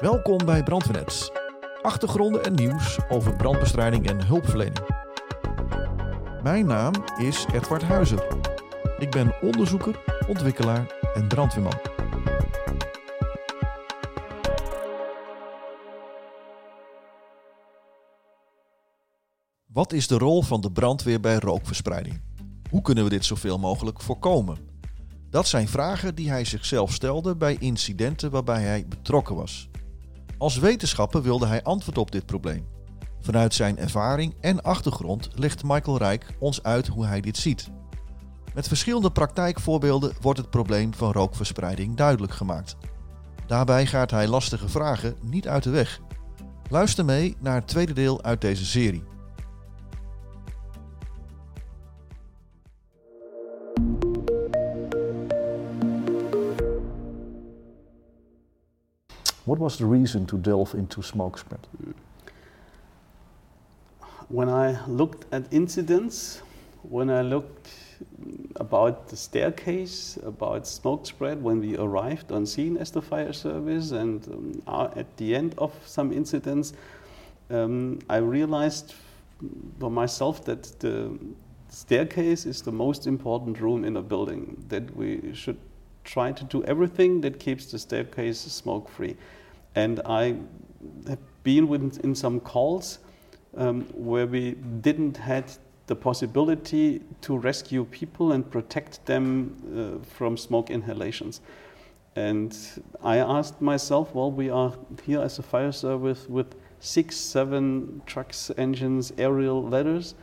Welkom bij Brandweernet. Achtergronden en nieuws over brandbestrijding en hulpverlening. Mijn naam is Edward Huizer. Ik ben onderzoeker, ontwikkelaar en brandweerman. Wat is de rol van de brandweer bij rookverspreiding? Hoe kunnen we dit zoveel mogelijk voorkomen? Dat zijn vragen die hij zichzelf stelde bij incidenten waarbij hij betrokken was. Als wetenschapper wilde hij antwoord op dit probleem. Vanuit zijn ervaring en achtergrond legt Michael Rijk ons uit hoe hij dit ziet. Met verschillende praktijkvoorbeelden wordt het probleem van rookverspreiding duidelijk gemaakt. Daarbij gaat hij lastige vragen niet uit de weg. Luister mee naar het tweede deel uit deze serie. What was the reason to delve into smoke spread? When I looked at incidents, when I looked about the staircase, about smoke spread when we arrived on scene as the fire service, and at the end of some incidents, I realized for myself that the staircase is the most important room in a building, that we should try to do everything that keeps the staircase smoke free. And I have been in some calls where we didn't have the possibility to rescue people and protect them from smoke inhalations. And I asked myself, well, we are here as a fire service with 6, 7 trucks, engines, aerial ladders,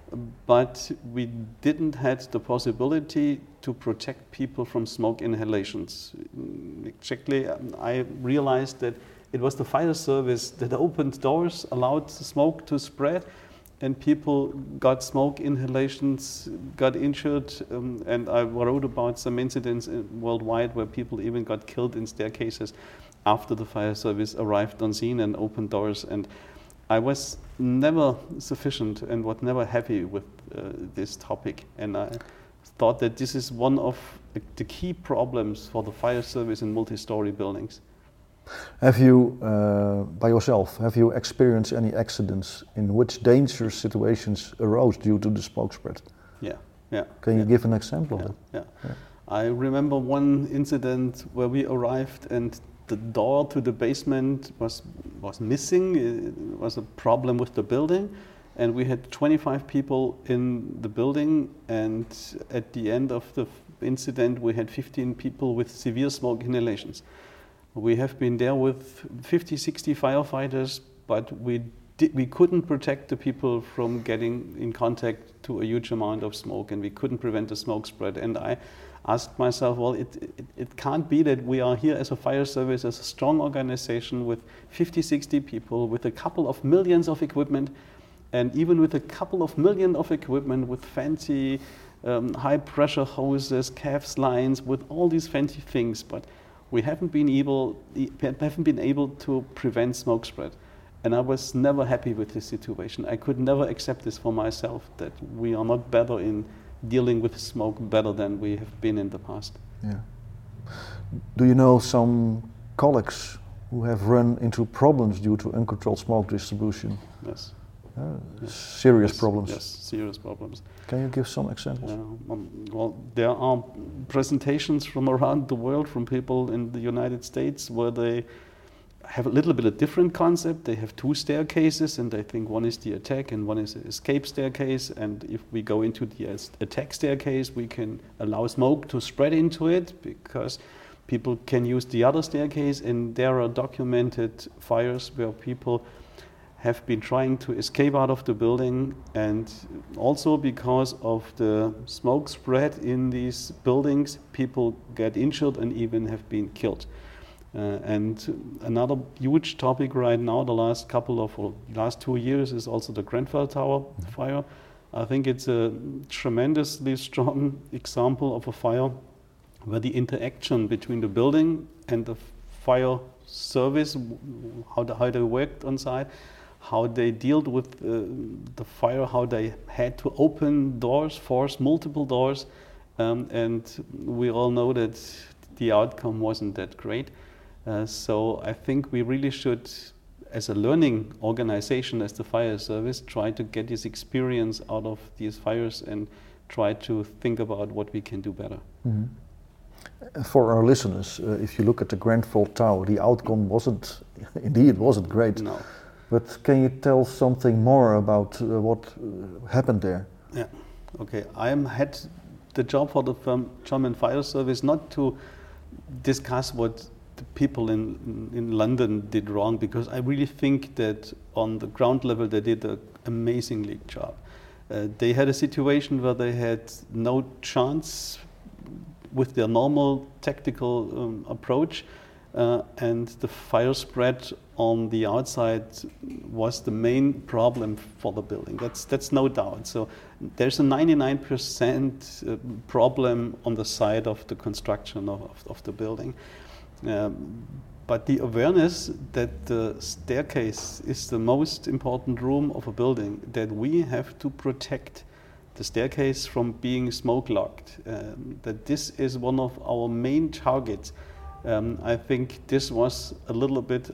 but we didn't have the possibility to protect people from smoke inhalations. Exactly, I realized that it was the fire service that opened doors, allowed smoke to spread, and people got smoke inhalations, got injured, and I wrote about some incidents worldwide where people even got killed in staircases after the fire service arrived on scene and opened doors. And I was never sufficient and was never happy with this topic, and I thought that this is one of the key problems for the fire service in multi-story buildings. Have you, by yourself, have you experienced any accidents in which dangerous situations arose due to the smoke spread? Yeah. Can you give an example of it? Yeah. I remember one incident where we arrived and the door to the basement was missing. It was a problem with the building, and we had 25 people in the building, and at the end of the incident we had 15 people with severe smoke inhalations. We have been there with 50, 60 firefighters, but we couldn't protect the people from getting in contact to a huge amount of smoke, and we couldn't prevent the smoke spread. And I asked myself, well, it can't be that we are here as a fire service, as a strong organization with 50, 60 people, with a couple of millions of equipment, and even with a couple of million of equipment with fancy high pressure hoses, CAFS lines, with all these fancy things, but we haven't been able to prevent smoke spread. And I was never happy with this situation. I could never accept this for myself, that we are not better in dealing with smoke better than we have been in the past. Yeah. Do you know some colleagues who have run into problems due to uncontrolled smoke distribution? Yes. Serious problems? Yes, serious problems. Can you give some examples? Well, there are presentations from around the world, from people in the United States, where they have a little bit of different concept. They have 2 staircases, and they think one is the attack and one is the escape staircase. And if we go into the attack staircase, we can allow smoke to spread into it because people can use the other staircase. And there are documented fires where people have been trying to escape out of the building, and also because of the smoke spread in these buildings, people get injured and even have been killed. And another huge topic right now, the last 2 years, is also the Grenfell Tower fire. I think it's a tremendously strong example of a fire where the interaction between the building and the fire service, how they worked on site, how they dealt with the fire, how they had to open doors, force multiple doors, and we all know that the outcome wasn't that great. So I think we really should, as a learning organization, as the fire service, try to get this experience out of these fires and try to think about what we can do better. For our listeners, if you look at the Grenfell Tower, the outcome wasn't great. No. But can you tell something more about what happened there? Yeah, okay. I had the job for the German Fire Service not to discuss what the people in London did wrong, because I really think that on the ground level they did an amazingly job. They had a situation where they had no chance with their normal tactical approach, and the fire spread on the outside was the main problem for the building. That's no doubt. So there's a 99% problem on the side of the construction of the building. But the awareness that the staircase is the most important room of a building, that we have to protect the staircase from being smoke locked, that this is one of our main targets. I think this was a little bit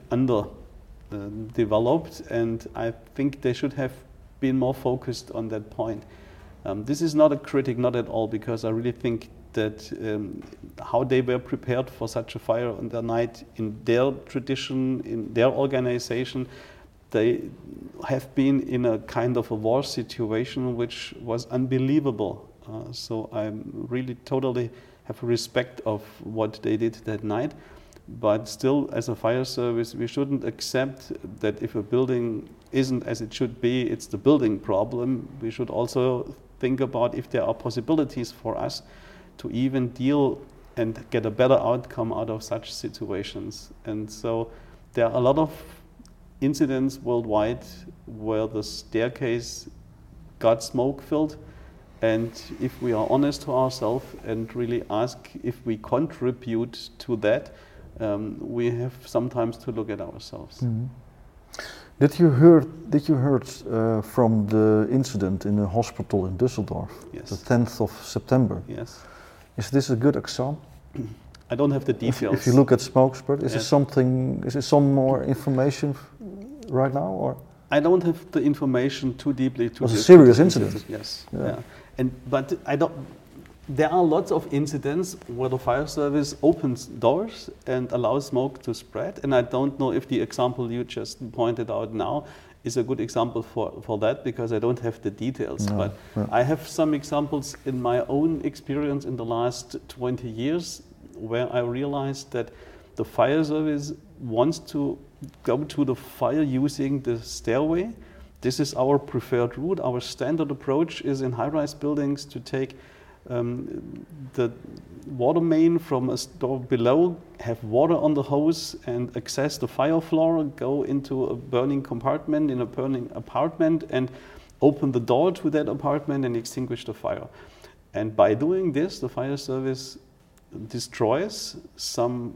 developed, and I think they should have been more focused on that point. This is not a critic, not at all, because I really think that how they were prepared for such a fire on the night in their tradition, in their organization, they have been in a kind of a war situation which was unbelievable. So I really totally have respect of what they did that night. But still, as a fire service, we shouldn't accept that if a building isn't as it should be, it's the building problem. We should also think about if there are possibilities for us to even deal and get a better outcome out of such situations. And so there are a lot of incidents worldwide where the staircase got smoke filled, and if we are honest to ourselves and really ask if we contribute to that, we have sometimes to look at ourselves. Mm-hmm. Did you heard from the incident in the hospital in Düsseldorf, Yes. the 10th of September? Yes. Is this a good example? I don't have the details. If you look at smoke spread, is Yes. there some more information right now, or? I don't have the information too deeply. It was a serious incident. Yes. Yeah. But I don't. There are lots of incidents where the fire service opens doors and allows smoke to spread, and I don't know if the example you just pointed out now is a good example for that, because I don't have the details. No. But I have some examples in my own experience in the last 20 years where I realized that the fire service wants to go to the fire using the stairway. This is our preferred route. Our standard approach is in high-rise buildings to take the water main from a store below, have water on the hose and access the fire floor, go into a burning compartment in a burning apartment and open the door to that apartment and extinguish the fire. And by doing this, the fire service destroys some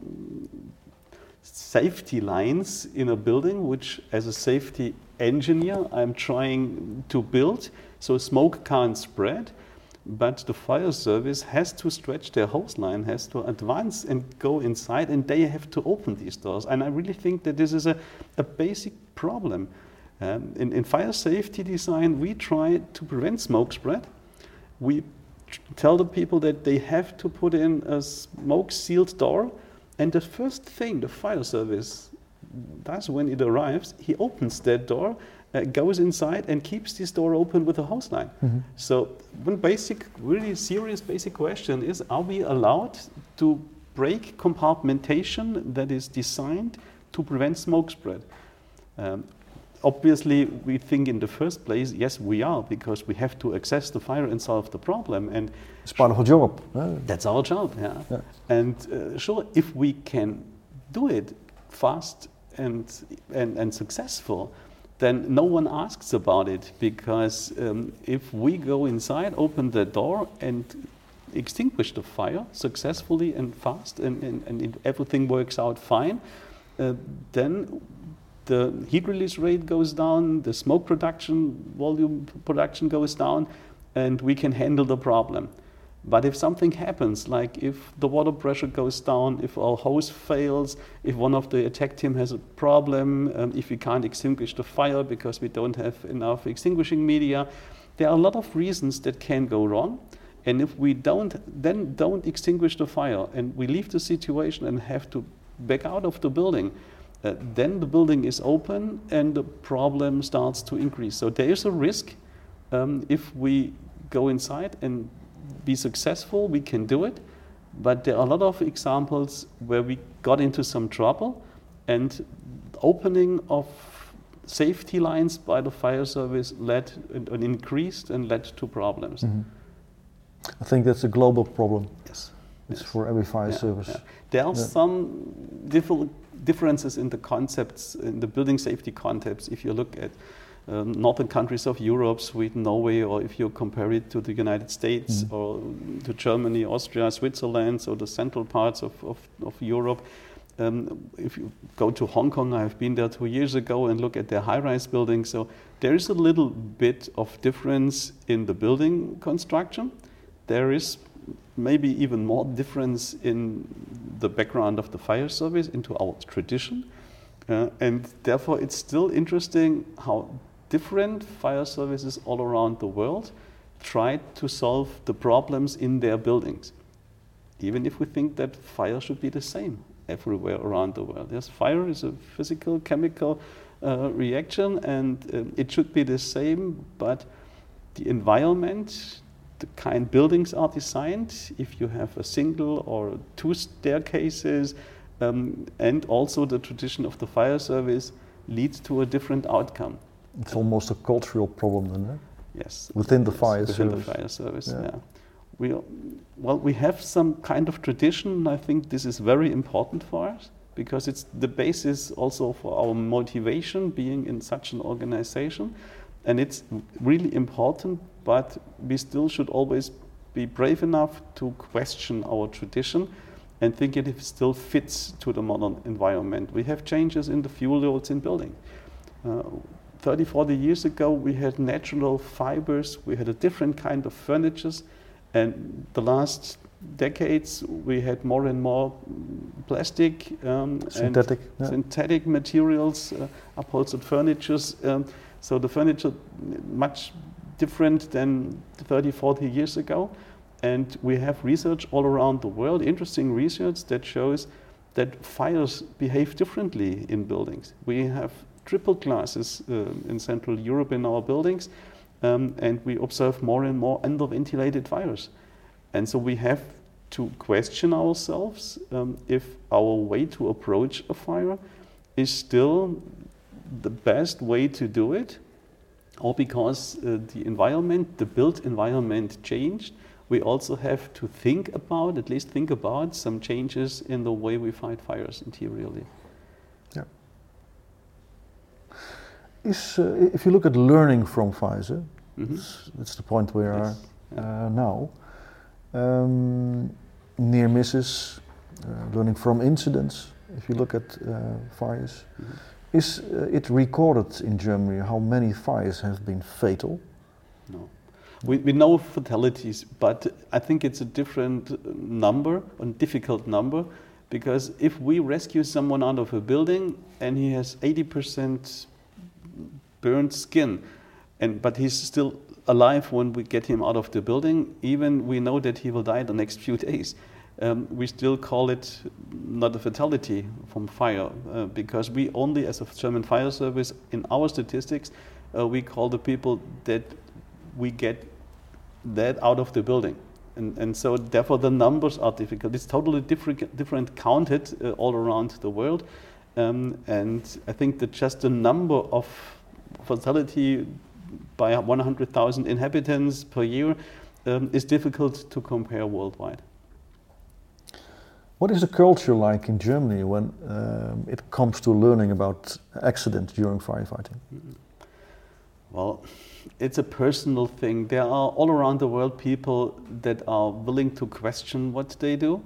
safety lines in a building, which as a safety engineer I'm trying to build so smoke can't spread. But the fire service has to stretch their hose line, has to advance and go inside, and they have to open these doors. And I really think that this is a basic problem. In fire safety design, we try to prevent smoke spread. We tell the people that they have to put in a smoke-sealed door, and the first thing the fire service does when it arrives, he opens that door, goes inside and keeps this door open with a hose line. Mm-hmm. So one basic, really serious basic question is, are we allowed to break compartmentation that is designed to prevent smoke spread? Obviously, we think in the first place, yes, we are, because we have to access the fire and solve the problem. And it's part of our job. That's our job, yeah. And sure, if we can do it fast and successful, then no one asks about it, because if we go inside, open the door and extinguish the fire successfully and fast, and everything works out fine, then the heat release rate goes down, the smoke production, volume production goes down, and we can handle the problem. But if something happens, like if the water pressure goes down, if our hose fails, if one of the attack team has a problem, if we can't extinguish the fire because we don't have enough extinguishing media, there are a lot of reasons that can go wrong. And if we don't extinguish the fire and we leave the situation and have to back out of the building, then the building is open and the problem starts to increase. So there is a risk if we go inside and be successful, we can do it. But there are a lot of examples where we got into some trouble and opening of safety lines by the fire service led and increased and led to problems. Mm-hmm. I think that's a global problem. Yes. It's for every fire service. Yeah. There are some differences in the concepts, in the building safety concepts, if you look at northern countries of Europe, Sweden, Norway, or if you compare it to the United States or to Germany, Austria, Switzerland, so the central parts of Europe. If you go to Hong Kong, I've been there 2 years ago and look at their high-rise buildings. So there is a little bit of difference in the building construction. There is maybe even more difference in the background of the fire service, into our tradition. And therefore, it's still interesting how different fire services all around the world try to solve the problems in their buildings. Even if we think that fire should be the same everywhere around the world. Yes, fire is a physical, chemical reaction, and it should be the same, but the environment, the kind buildings are designed, if you have a single or 2 staircases, and also the tradition of the fire service leads to a different outcome. It's almost a cultural problem then, eh? Yes. Within the fire service. Within the fire service, yeah. We have some kind of tradition. I think this is very important for us because it's the basis also for our motivation being in such an organization. And it's really important, but we still should always be brave enough to question our tradition and think if it still fits to the modern environment. We have changes in the fuel rods in building. 30, 40 years ago, we had natural fibers, we had a different kind of furnitures, and the last decades we had more and more plastic synthetic materials, upholstered furnitures. So the furniture much different than 30, 40 years ago. And we have research all around the world, interesting research that shows that fires behave differently in buildings. We have triple classes in Central Europe in our buildings, and we observe more and more under-ventilated fires. And so we have to question ourselves if our way to approach a fire is still the best way to do it, or because the environment, the built environment changed, we also have to think about some changes in the way we fight fires interiorly. Yeah. If you look at learning from fires, that's the point we are now. Near misses, learning from incidents. If you look at fires, is it recorded in Germany how many fires have been fatal? No. We know fatalities, but I think it's a different number, a difficult number, because if we rescue someone out of a building and he has 80% burned skin, but he's still alive when we get him out of the building, even we know that he will die the next few days. We still call it not a fatality from fire, because we only, as a German fire service, in our statistics, we call the people that we get that out of the building. And so therefore the numbers are difficult. It's totally different counted all around the world. And I think that just the number of fatality by 100,000 inhabitants per year is difficult to compare worldwide. What is the culture like in Germany when it comes to learning about accidents during firefighting? Well, it's a personal thing. There are all around the world people that are willing to question what they do.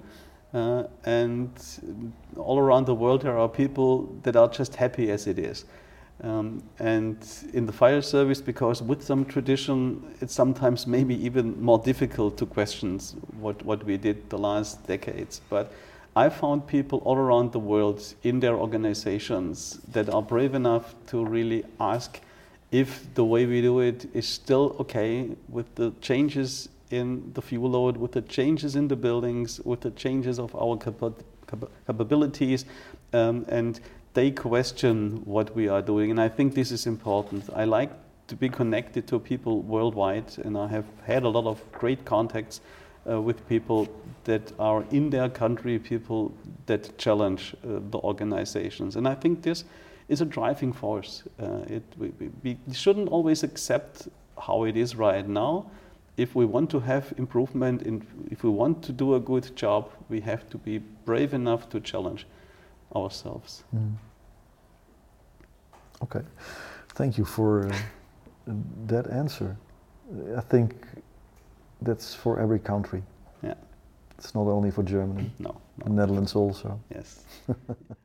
And all around the world there are people that are just happy as it is. And in the fire service, because with some tradition, it's sometimes maybe even more difficult to question what we did the last decades. But I found people all around the world in their organizations that are brave enough to really ask if the way we do it is still okay with the changes in the fuel load, with the changes in the buildings, with the changes of our capabilities, and they question what we are doing. And I think this is important. I like to be connected to people worldwide, and I have had a lot of great contacts with people that are in their country, people that challenge the organizations. And I think this is a driving force. We shouldn't always accept how it is right now. If we want to have improvement, if we want to do a good job, we have to be brave enough to challenge ourselves. Okay, thank you for that answer. I think that's for every country. Yeah. It's not only for Germany. No. The Netherlands also. Yes.